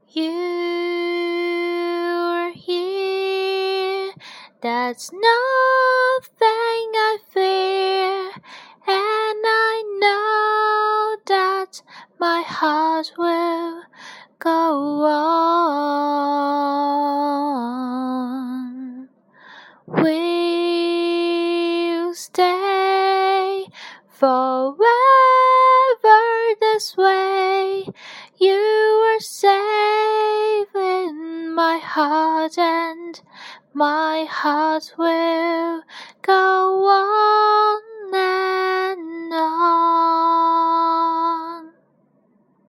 You're here, that's nothing I fear, and I know that my heart will go on. We'll stay forever this way. You are safe in my heart, and my heart will go on and on.